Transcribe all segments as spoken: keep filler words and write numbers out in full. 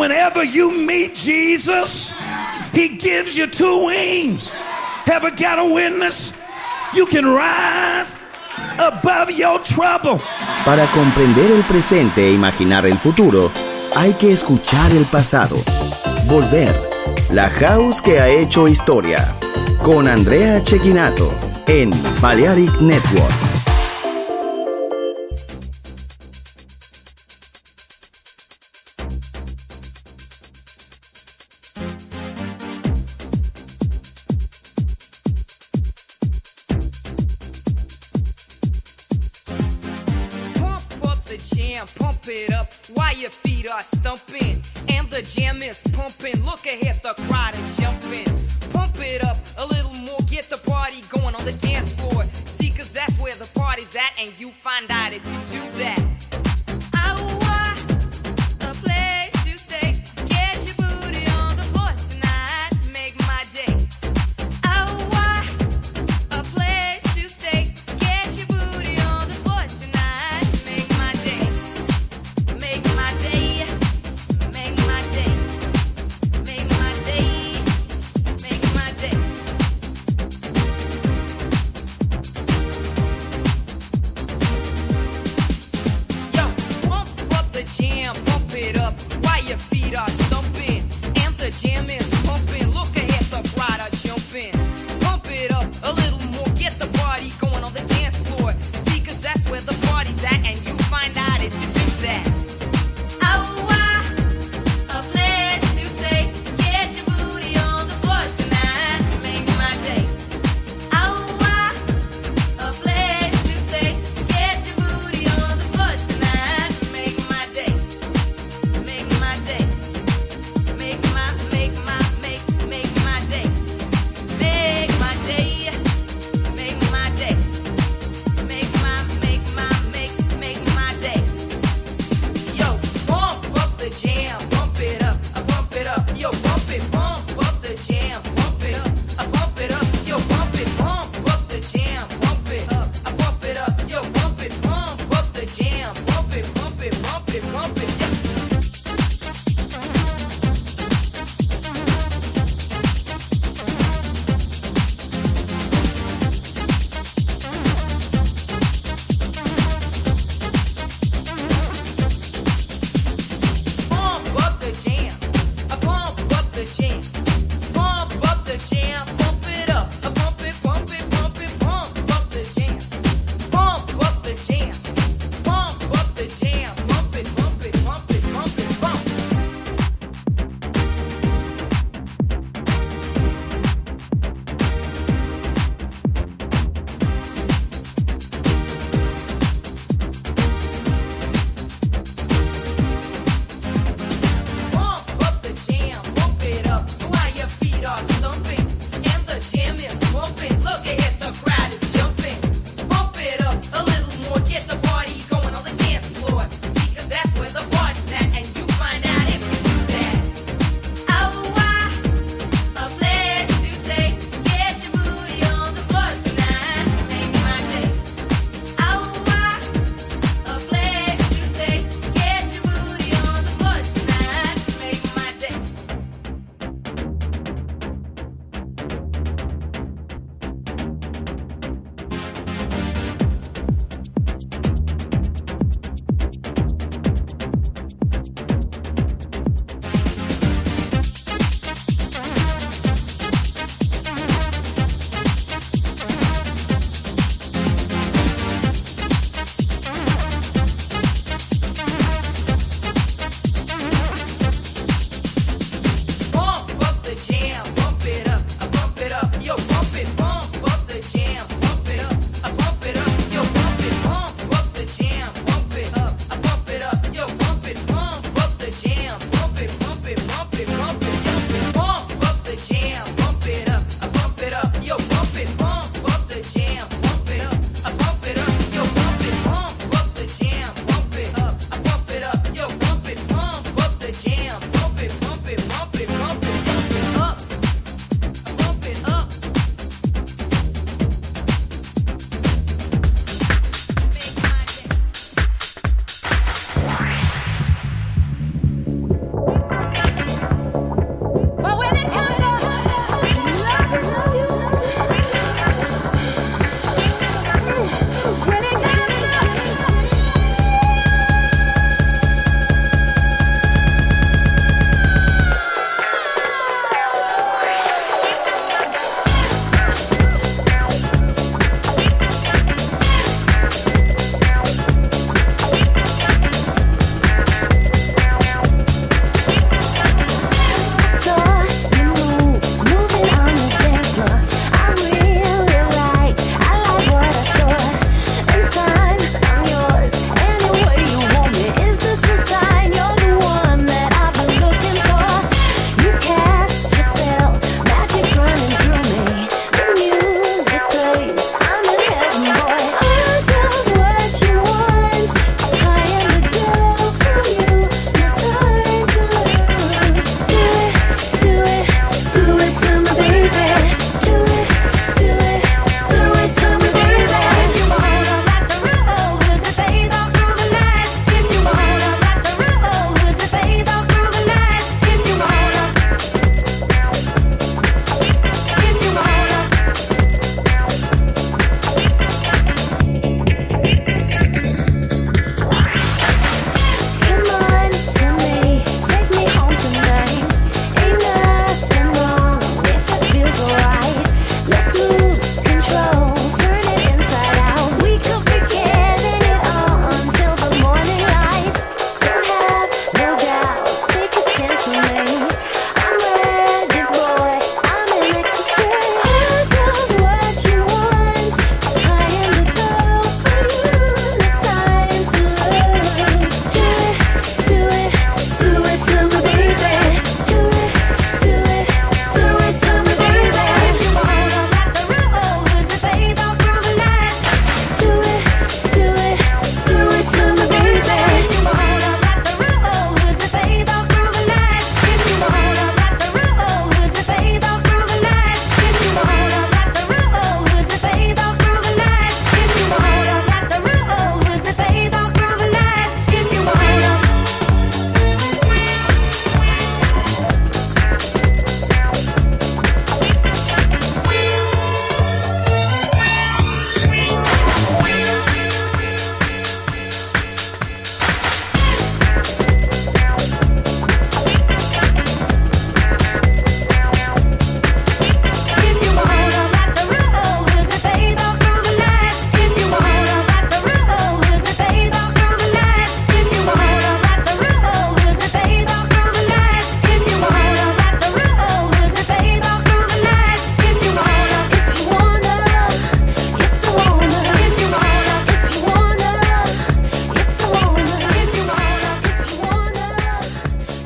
whenever you meet Jesus, he gives you two wings. Ever got a witness? You can rise above your trouble. Para comprender el presente e imaginar el futuro, hay que escuchar el pasado. Volver. La house que ha hecho historia. Con Andrea Cecchinato en Balearic Network. Pump it up while your feet are stumping and the jam is pumping. Look ahead, the crowd is jumping. Pump it up a little more, get the party going on the dance floor. See, cause that's where the party's at, and you find out if you do that.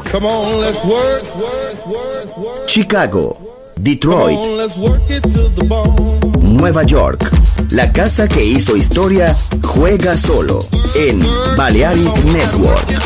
Come on, let's work. Chicago, Detroit, Come on, let's work it to the bone. Nueva York. La casa que hizo historia juega solo en Balearic Network.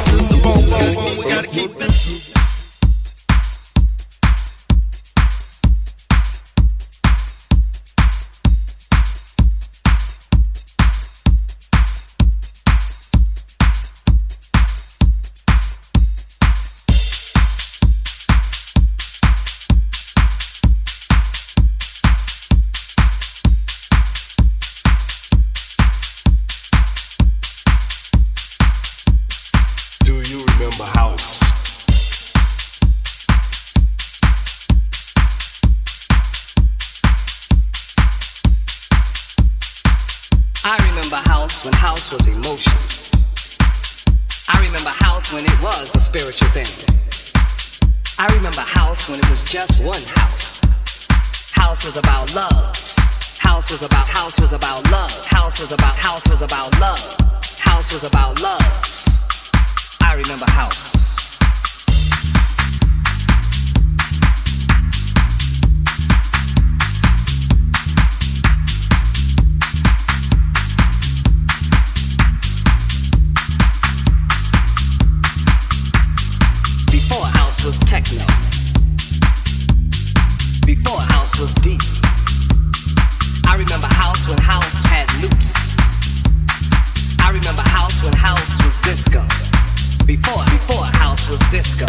When house was emotion. I remember house when it was a spiritual thing. I remember house when it was just one house. House was about love. House was about, house was about love. House was about, house was about love. House was about love. I remember house. Was techno. Before house was deep. I remember house when house had loops. I remember house when house was disco. Before, before house was disco.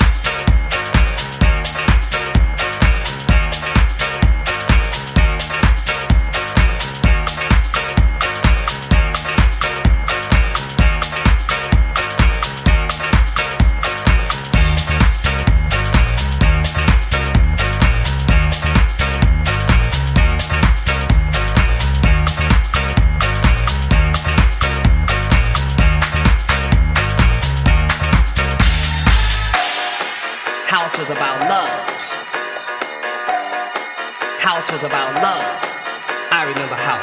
Was about love. House was about love. I remember house.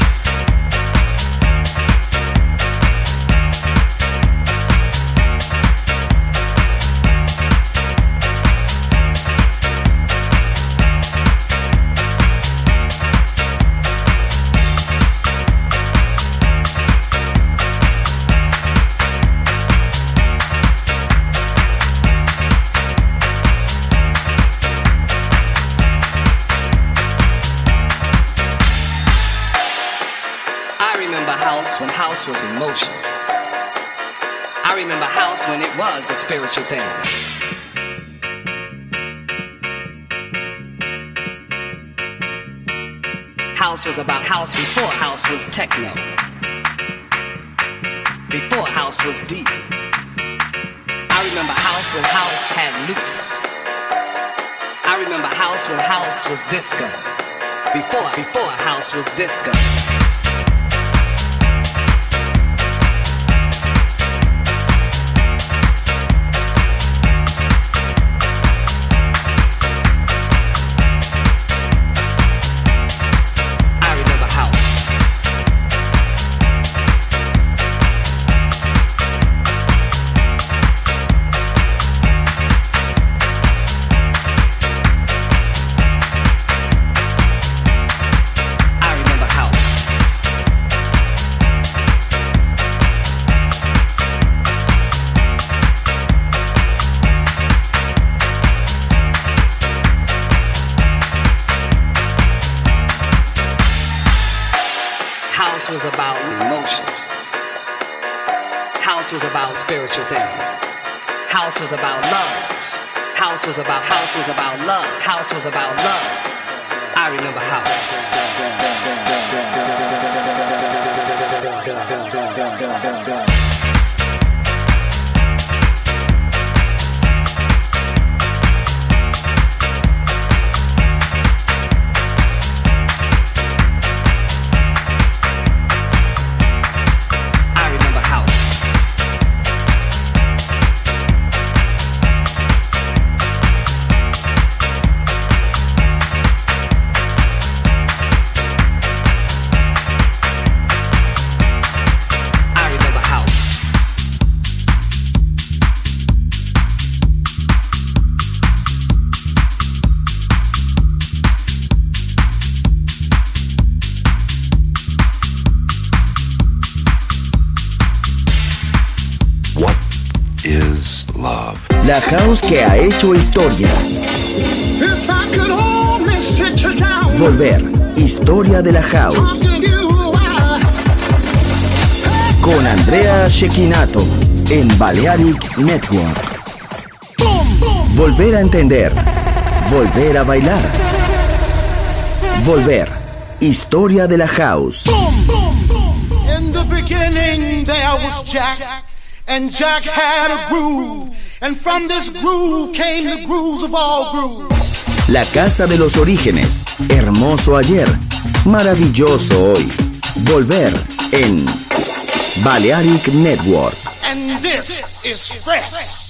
When house was emotion. I remember house when it was a spiritual thing. House was about house before house was techno. Before house was deep. I remember house when house had loops. I remember house when house was disco. Before, before house was disco. Was about emotion. House was about spiritual thing. House was about love. House was about, house was about love. House was about love. I remember house. is love. La house que ha hecho historia. If I could only sit you down. Volver. Historia de la house. Talk to you, I... Con Andrea Cecchinato en Balearic Network. Volver a entender. Volver a bailar. Volver. Historia de la house. In the beginning there was Jack, and Jack had a groove, and from this groove came the grooves of all grooves. La casa de los orígenes. Hermoso ayer. Maravilloso hoy. Volver en Balearic Network. And this is fresh.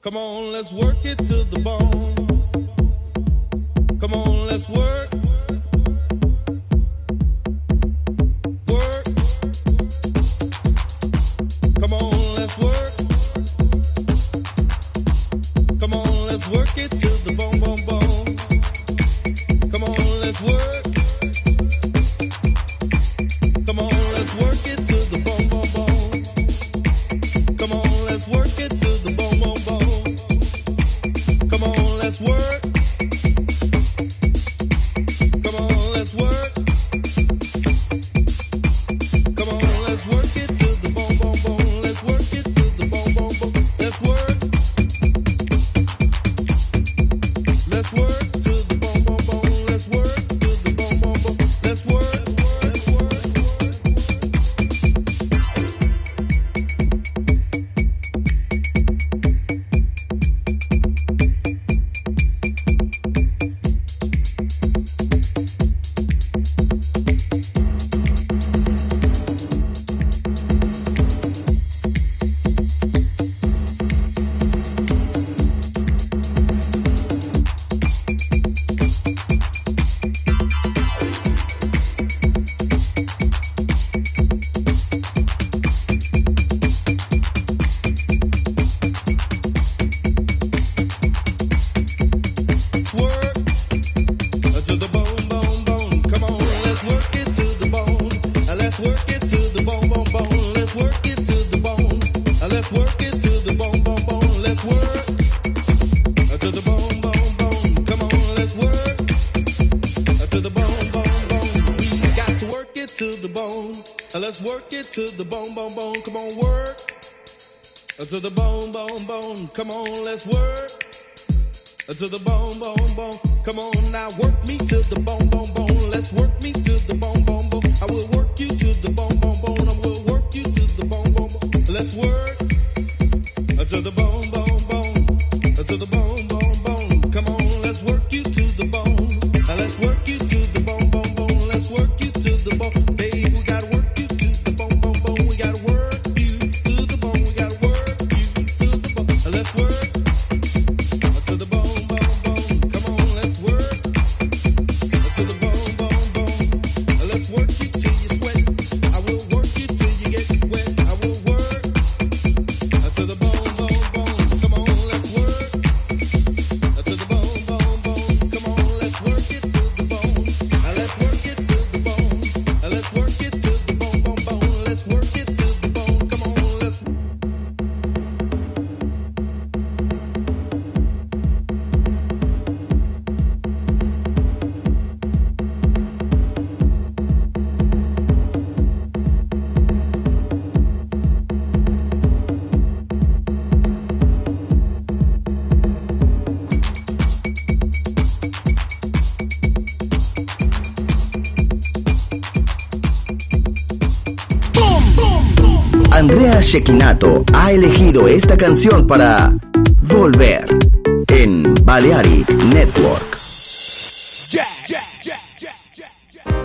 Come on, let's work it to the bone. Come on, let's work. Work. Come on, let's work. Come on, let's work it to the bone, bone, bone. Come on, let's work. Come on, let's work it to the bone, bone, bone. Come on, let's work it to the bone, bone, bone. Come on, let's work. Come on, let's work. Come on, let's work it to the bone, bone, bone. Let's work it to the bone, bone, bone. Let's work. Let's work to the bone, bone, bone. Let's work to the bone, bone, bone. Let's work. Let's work. To the bone, bone, bone. Come on, let's work. To the bone, bone, bone. Come on now, work me to the bone, bone, bone. Let's work me to the bone, bone, bone. I will work you to the bone, bone, bone. I will work you to the bone, bone, bone. Let's work. To the bone, bone, bone. To the bone, bone, bone. Come on, let's work you to the bone. Let's work you to the bone, bone, bone. Let's work you to the bone. Babe, we gotta work you to the bone, bone, bone. We gotta work you to the bone. We gotta work. Let's work to the bone, bone, bone. Come on, let's work to the bone, bone, bone. Let's work you till you sweat. I will work you till you get wet. I will work to the bone, bone, bone. Come on, let's work to the bone, bone, bone. Come on, let's work it to the bone. Let's work it to the bone. Let's work it to the bone, bone, bone. Let's work it to the bone. Come on, let's. Andrea Cecchinato ha elegido esta canción para Volver en Balearic Network. Yeah, yeah, yeah, yeah, yeah, yeah.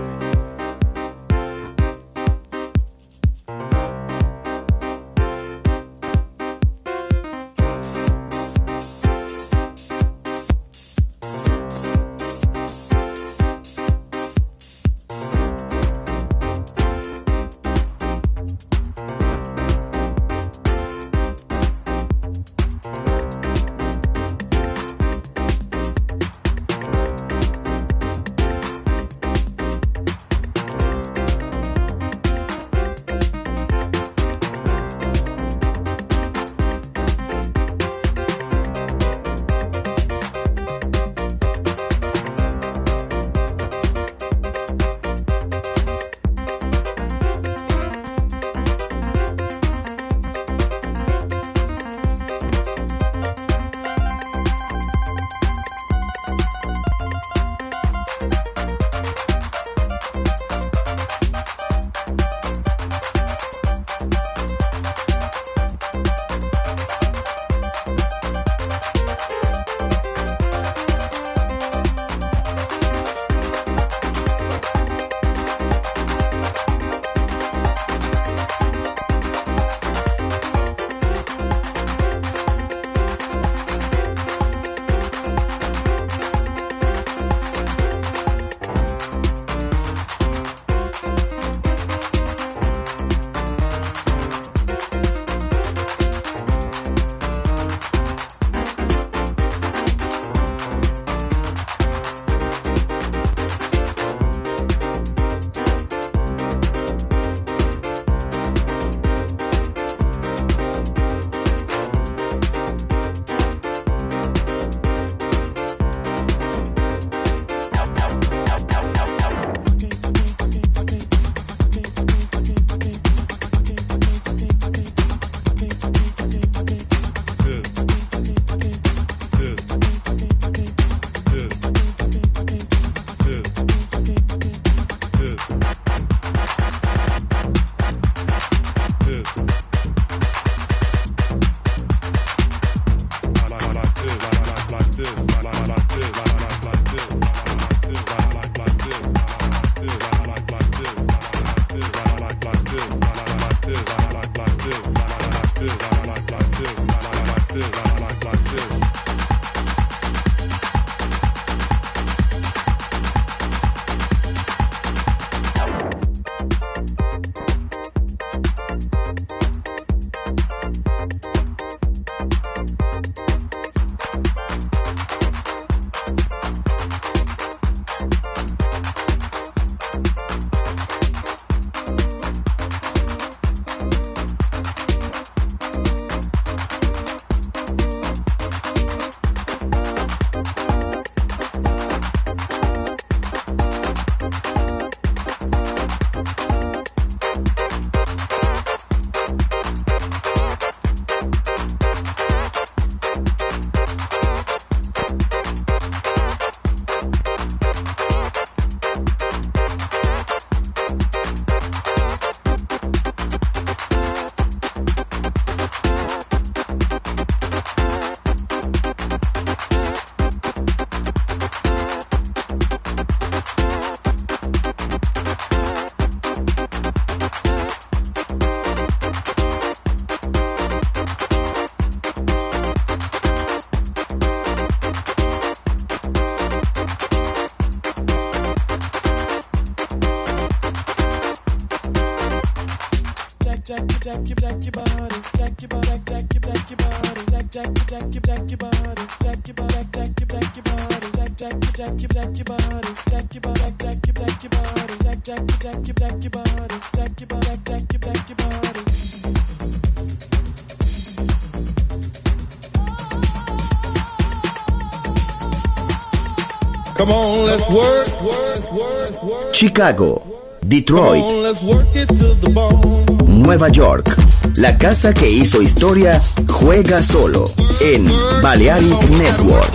Come on, let's work, work, work, work. Chicago, Detroit, Come on, let's work it to the bone. Nueva York. La casa que hizo historia juega solo en Balearic Network.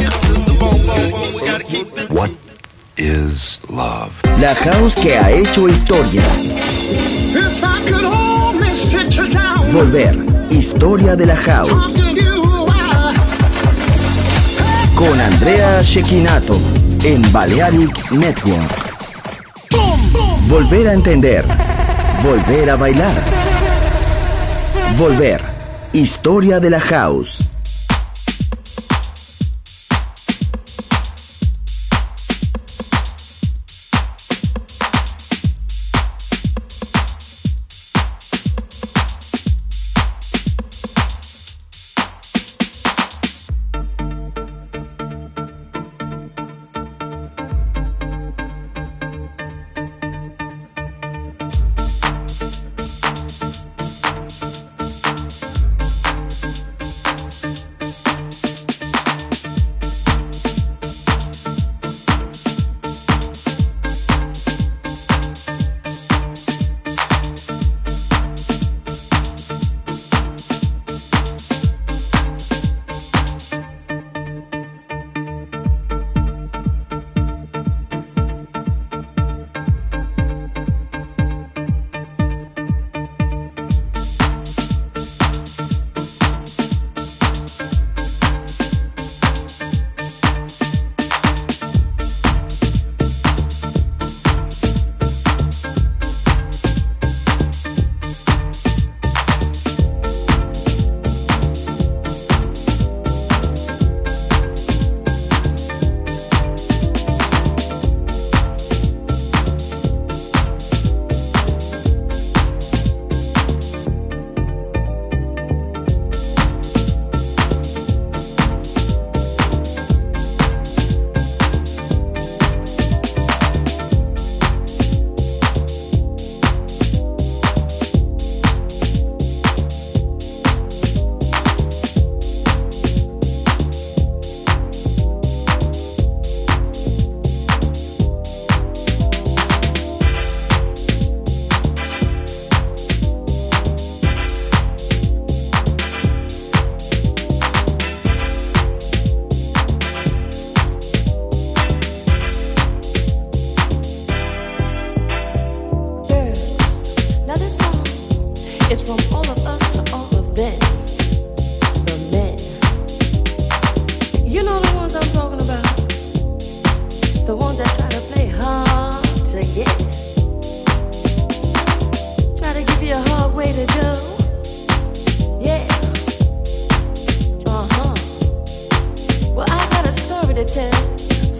What is love? La house que ha hecho historia. If I could only sit you down, Volver, historia de la house. talk to you, I, Con Andrea Cecchinato en Balearic Network. Volver a entender. Volver a bailar. Volver, historia de la house.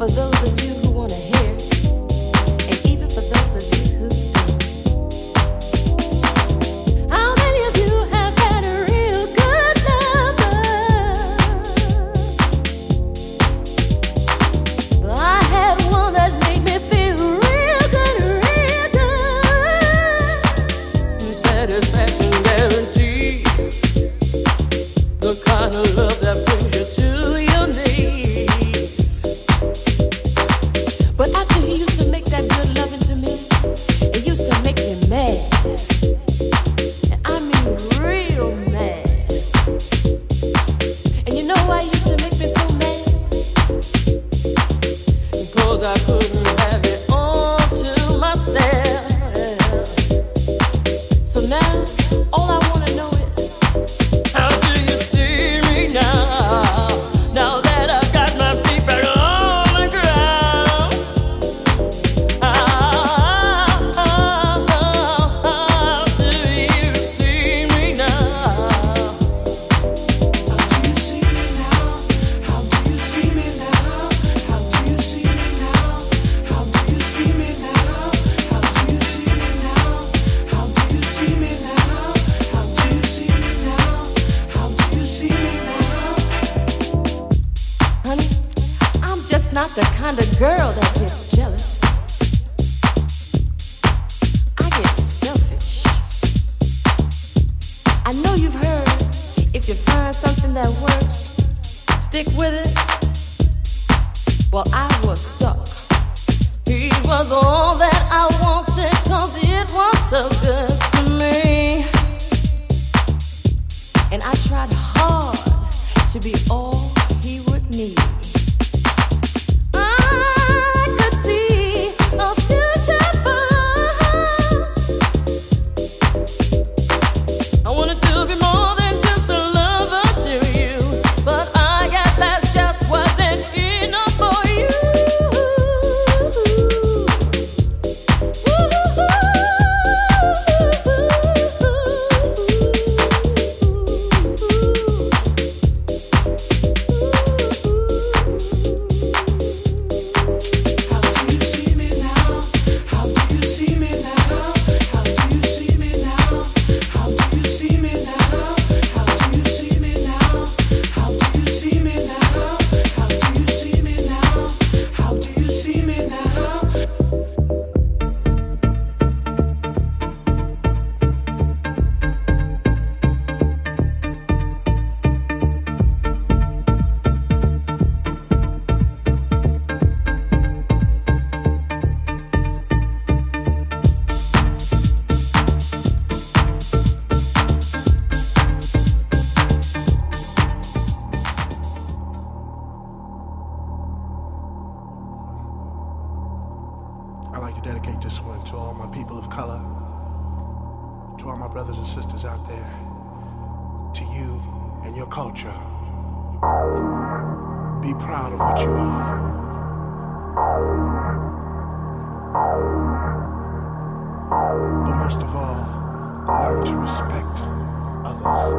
for those of you who want to hear, and even for those of you who don't. How many of you have had a real good lover? I had one that made me feel real good, real good. Satisfaction guaranteed, the kind of love that brings you to your knees. But after he used to make that good loving to me, it used to make me mad. And I mean real mad. And you know why it used to make me so mad? Because I couldn't have it all to myself. So now, all I want to know is, how do you see me now? Now that I've got my feet back on the ground. How, how, how do you see me now? How do you see me now? How do you see me now? How do you see me now? How do you see me now? How do you see me now? How do you see me now? How do you see me now? How do you see me now? Honey, I'm just not the kind of girl that gets jealous. I get selfish. I know you've heard, if you find something that works, stick with it. Well, I was stuck. He was all that I wanted, 'cause it was so good to me. And I tried hard to be all he would need. I could see a future for us. I wanted to be more than just a lover to you, but I guess that just wasn't enough for you. I'd like to dedicate this one to all my people of color, to all my brothers and sisters out there, to you and your culture. Be proud of what you are. But most of all, learn to respect others.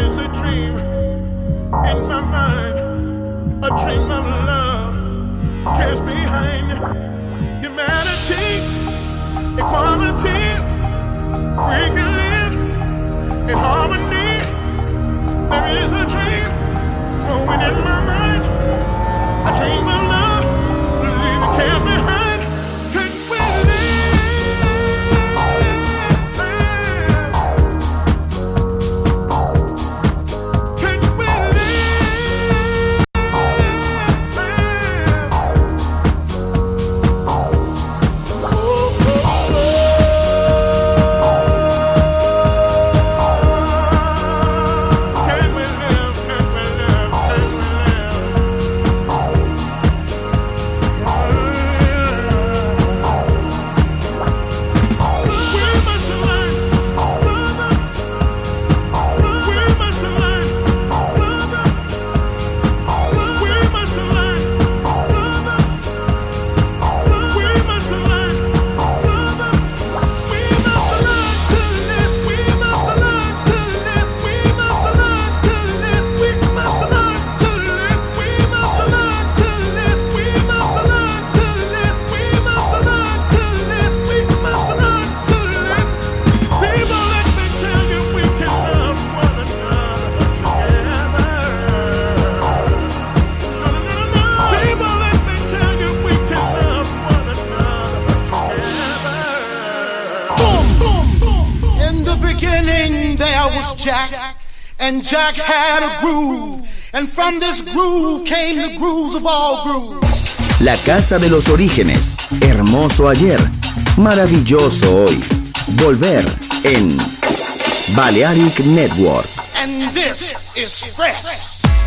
is a dream in my mind, a dream of love cares behind humanity, equality. We can live in harmony. There is a dream growing in my mind, a dream of love, leaving cares behind. Can we Jack, and Jack had a groove, and from this groove came the grooves of all grooves. La casa de los orígenes, hermoso ayer, maravilloso hoy. Volver en Balearic Network. And this is fresh.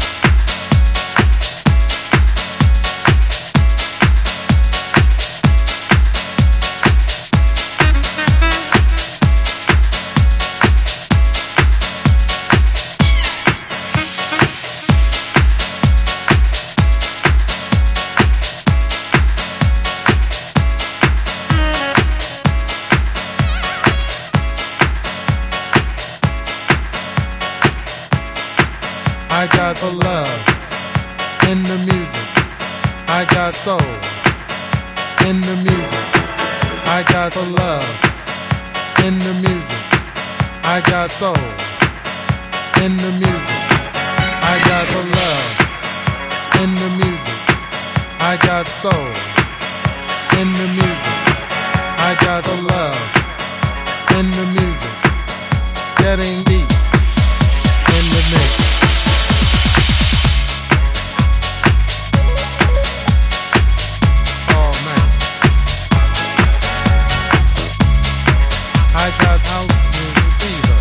I got the love in the music. I got soul in the music. I got the love in the music. I got soul in the music. I got the love in the music. I got soul in the music. I got the love in the music. Getting deep in the mix. I got house music fever.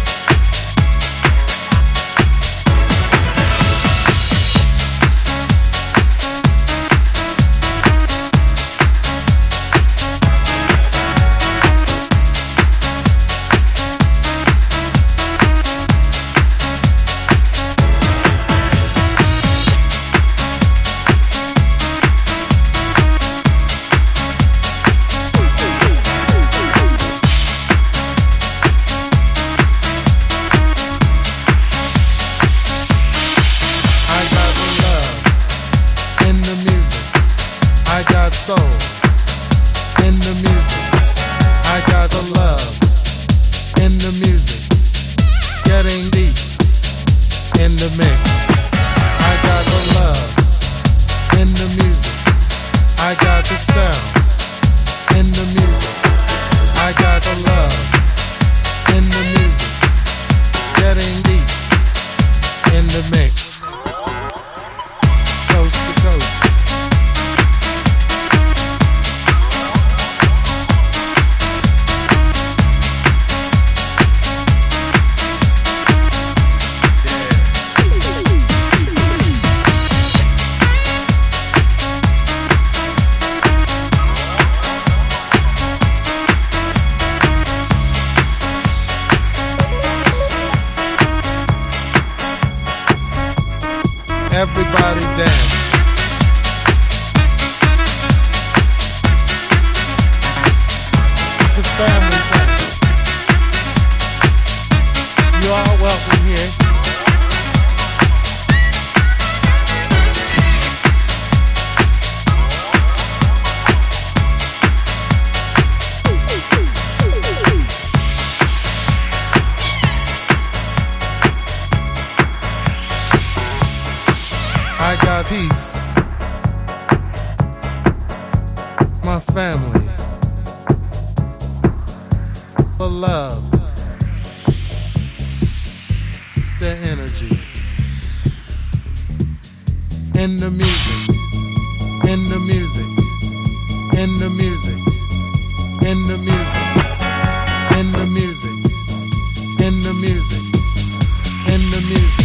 Everybody dance. It's a family dance. You are welcome here. peace, my family, the love, the energy, in the music, in the music, in the music, in the music, in the music, in the music, in the music.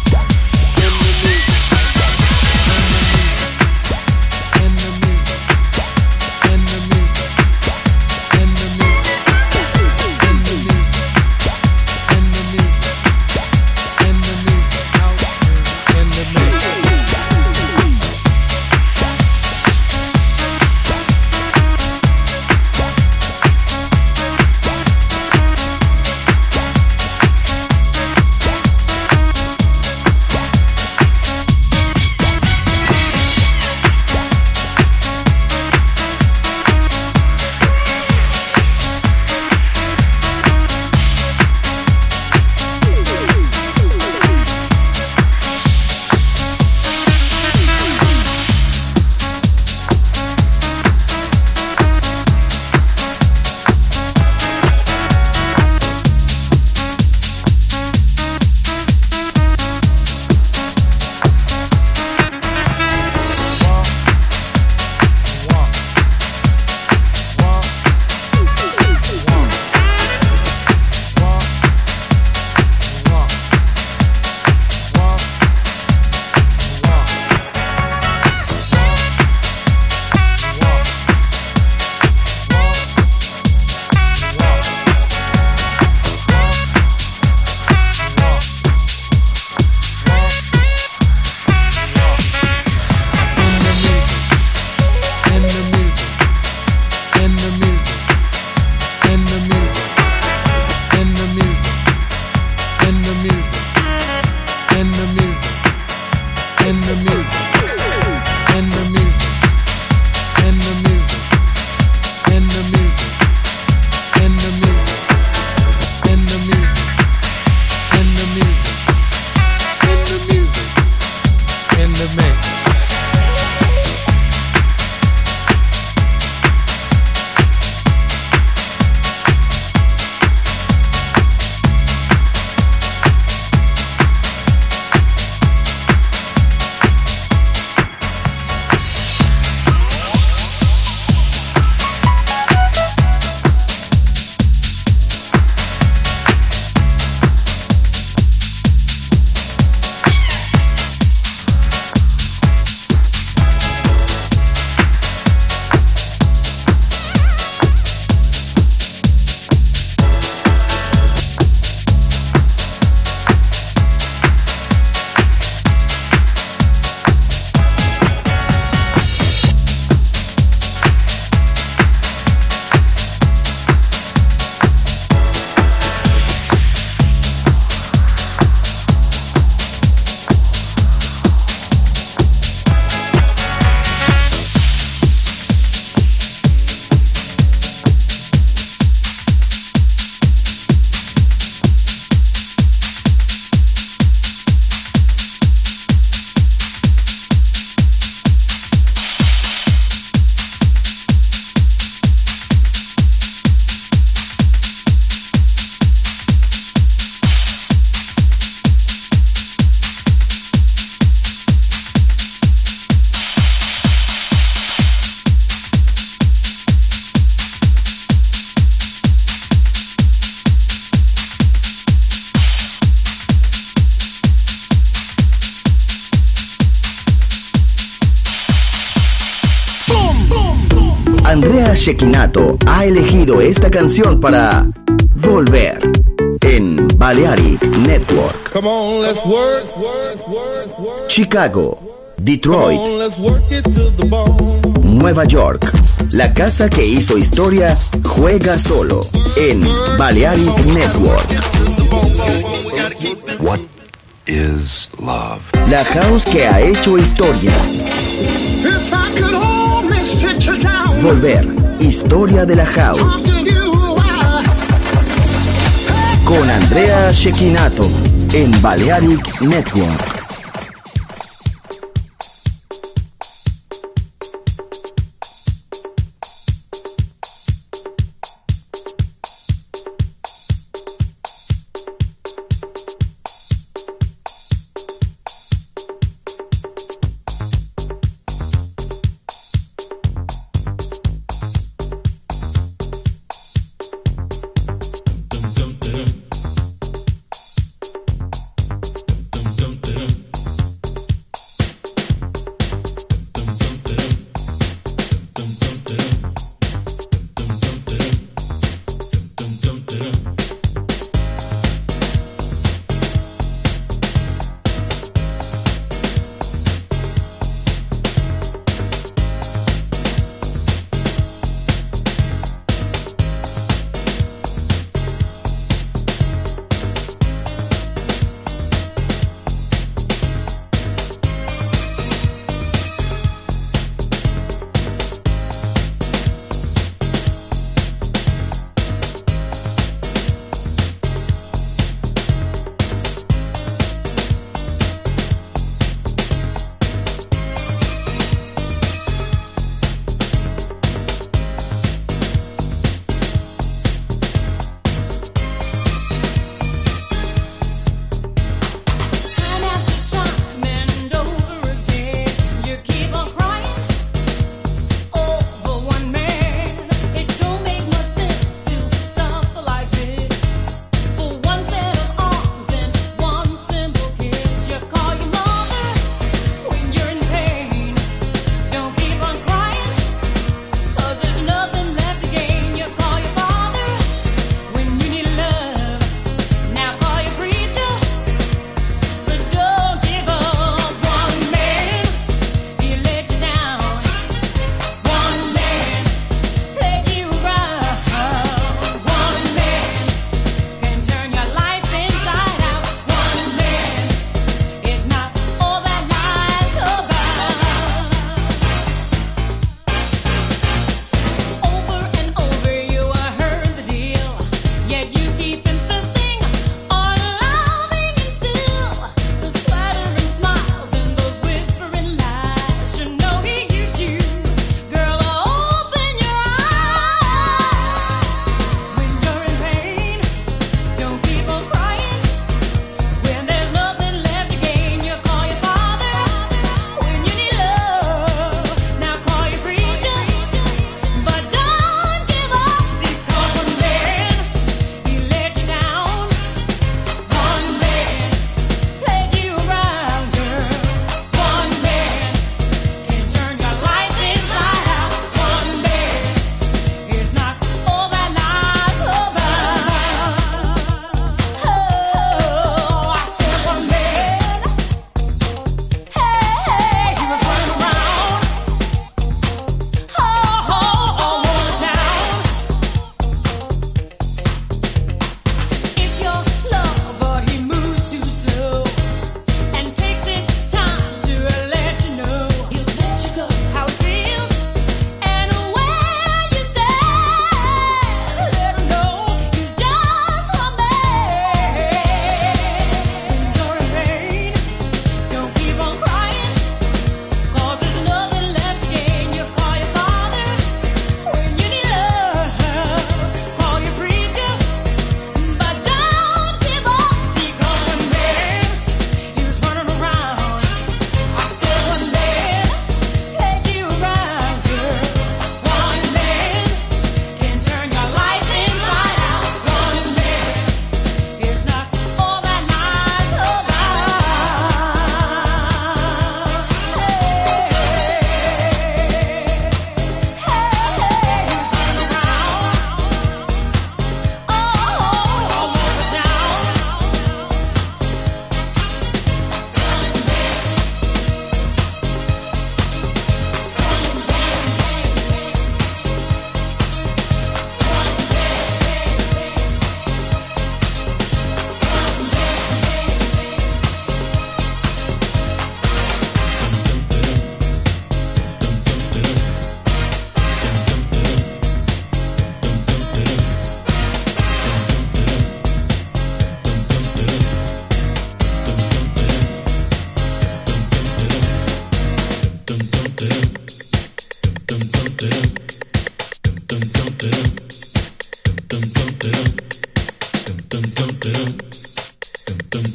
Andrea Cecchinato ha elegido esta canción para Volver en Balearic Network. Come on, let's work. Chicago, Detroit, Come on, let's work it to the bone. Nueva York. La casa que hizo historia juega solo en Balearic Network. What is love? La house que ha hecho historia. If I could only sit you down, Volver, historia de la house. talk to you, I, Con Andrea Cecchinato en Balearic Network.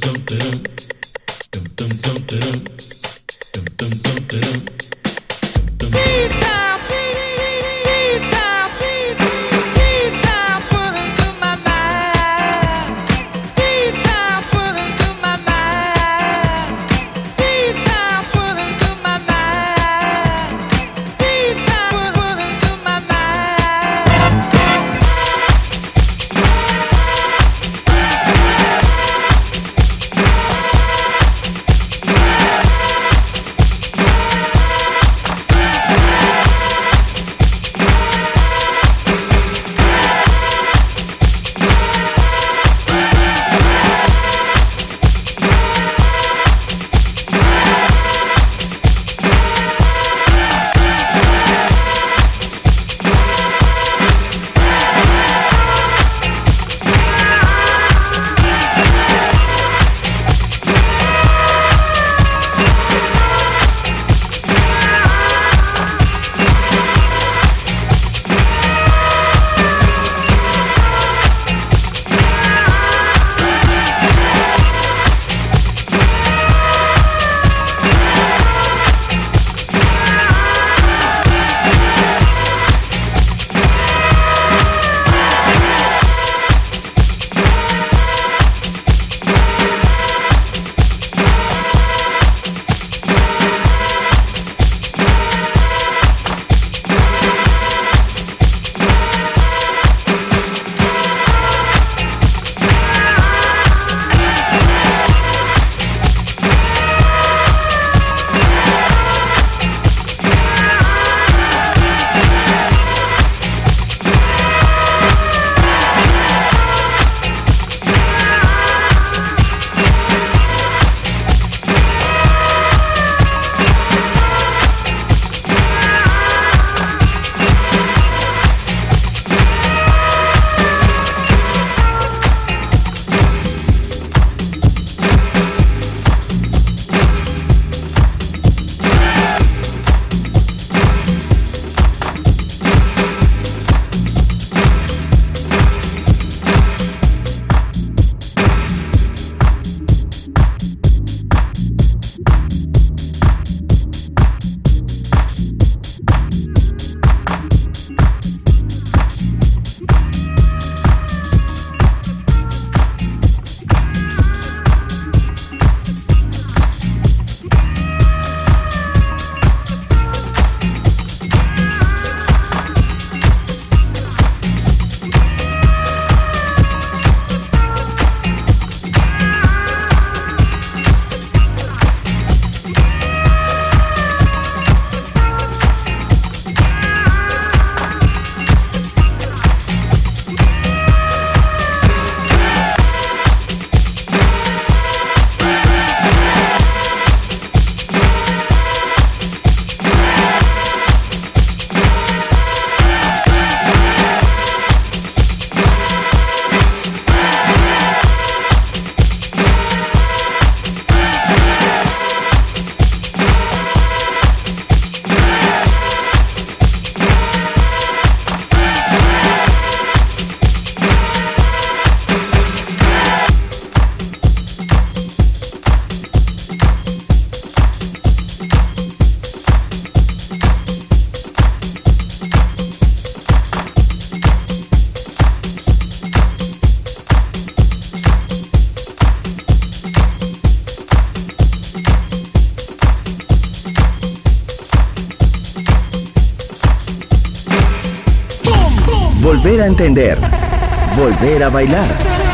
Volver a entender. Volver a bailar.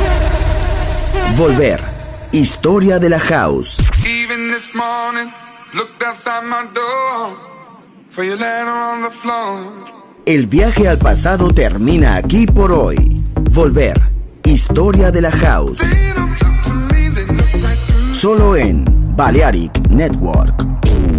Volver. Historia de la house. Even this morning, looked outside my door for your letter on the floor. El viaje al pasado termina aquí por hoy. Volver. Historia de la house. Solo en Balearic Network.